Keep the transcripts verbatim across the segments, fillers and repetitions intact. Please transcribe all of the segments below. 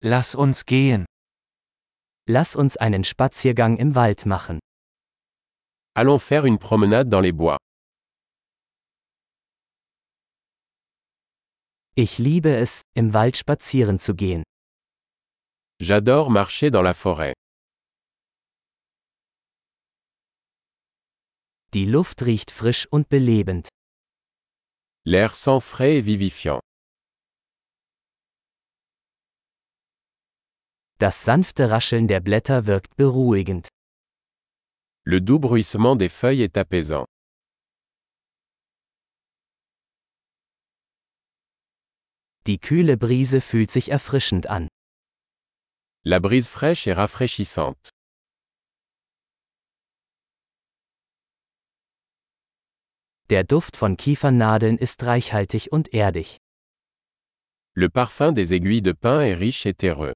Lass uns gehen. Lass uns einen Spaziergang im Wald machen. Allons faire une promenade dans les bois. Ich liebe es, im Wald spazieren zu gehen. J'adore marcher dans la forêt. Die Luft riecht frisch und belebend. L'air sent frais et vivifiant. Das sanfte Rascheln der Blätter wirkt beruhigend. Le doux bruissement des feuilles est apaisant. Die kühle Brise fühlt sich erfrischend an. La brise fraîche est rafraîchissante. Der Duft von Kiefernadeln ist reichhaltig und erdig. Le parfum des aiguilles de pin est riche et terreux.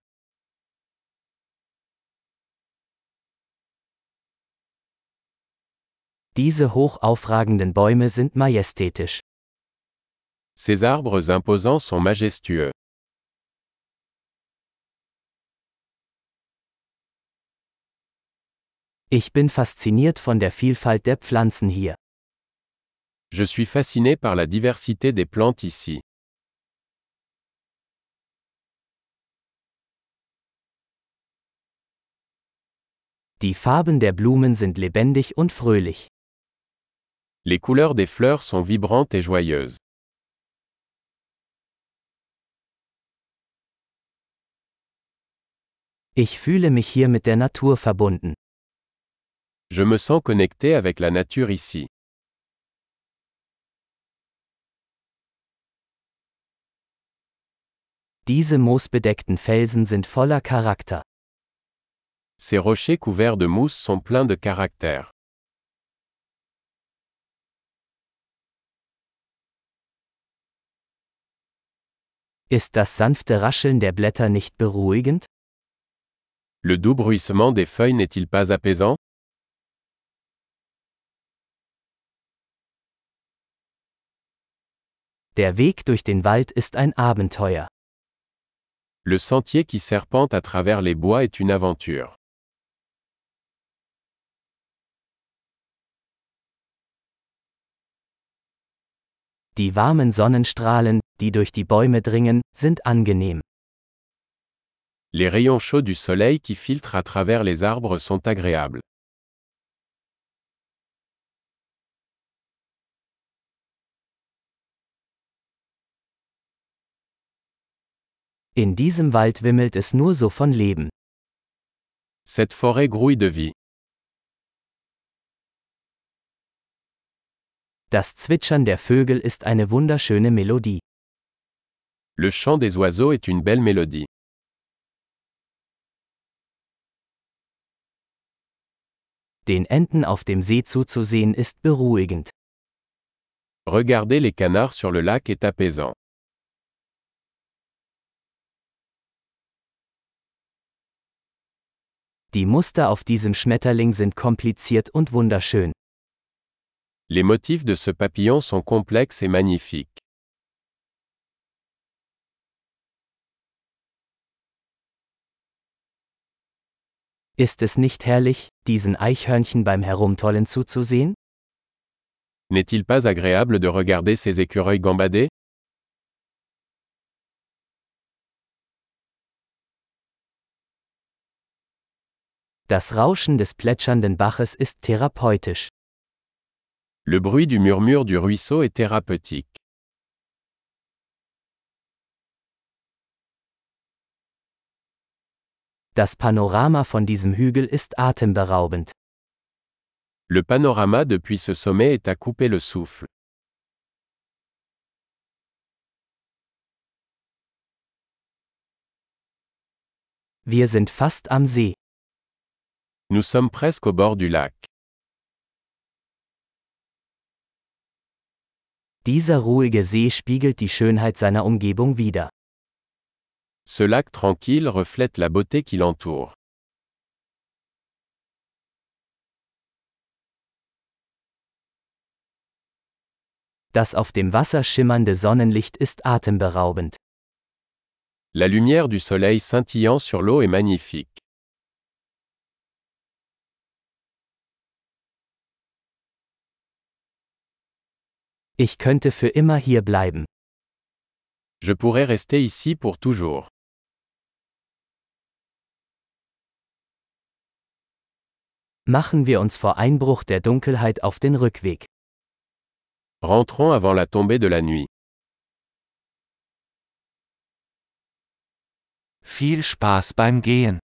Diese hoch aufragenden Bäume sind majestätisch. Ces arbres imposants sont majestueux. Ich bin fasziniert von der Vielfalt der Pflanzen hier. Je suis fasciné par la diversité des plantes ici. Die Farben der Blumen sind lebendig und fröhlich. Les couleurs des fleurs sont vibrantes et joyeuses. Ich fühle mich hier mit der Natur verbunden. Je me sens connecté avec la nature ici. Diese moosbedeckten Felsen sind voller Charakter. Ces rochers couverts de mousse sont pleins de caractère. Ist das sanfte Rascheln der Blätter nicht beruhigend? Le doux bruissement des feuilles n'est-il pas apaisant? Der Weg durch den Wald ist ein Abenteuer. Le sentier qui serpente à travers les bois est une aventure. Die warmen Sonnenstrahlen, die durch die Bäume dringen, sind angenehm. Les rayons chauds du soleil qui filtrent à travers les arbres sont agréables. In diesem Wald wimmelt es nur so von Leben. Cette forêt grouille de vie. Das Zwitschern der Vögel ist eine wunderschöne Melodie. Le chant des oiseaux est une belle mélodie. Den Enten auf dem See zuzusehen ist beruhigend. Regarder les canards sur le lac est apaisant. Die Muster auf diesem Schmetterling sind kompliziert und wunderschön. Les motifs de ce papillon sont complexes et magnifiques. Ist es nicht herrlich, diesen Eichhörnchen beim Herumtollen zuzusehen? N'est-il pas agréable de regarder ces écureuils gambader? Das Rauschen des plätschernden Baches ist therapeutisch. Le bruit du murmure du ruisseau est thérapeutique. Das Panorama von diesem Hügel ist atemberaubend. Le panorama depuis ce sommet est à couper le souffle. Wir sind fast am See. Nous sommes presque au bord du lac. Dieser ruhige See spiegelt die Schönheit seiner Umgebung wider. Ce lac tranquille reflète la beauté qui l'entoure. Das auf dem Wasser schimmernde Sonnenlicht ist atemberaubend. La lumière du soleil scintillant sur l'eau est magnifique. Ich könnte für immer hier bleiben. Je pourrais rester ici pour toujours. Machen wir uns vor Einbruch der Dunkelheit auf den Rückweg. Rentrons avant la tombée de la nuit. Viel Spaß beim Gehen.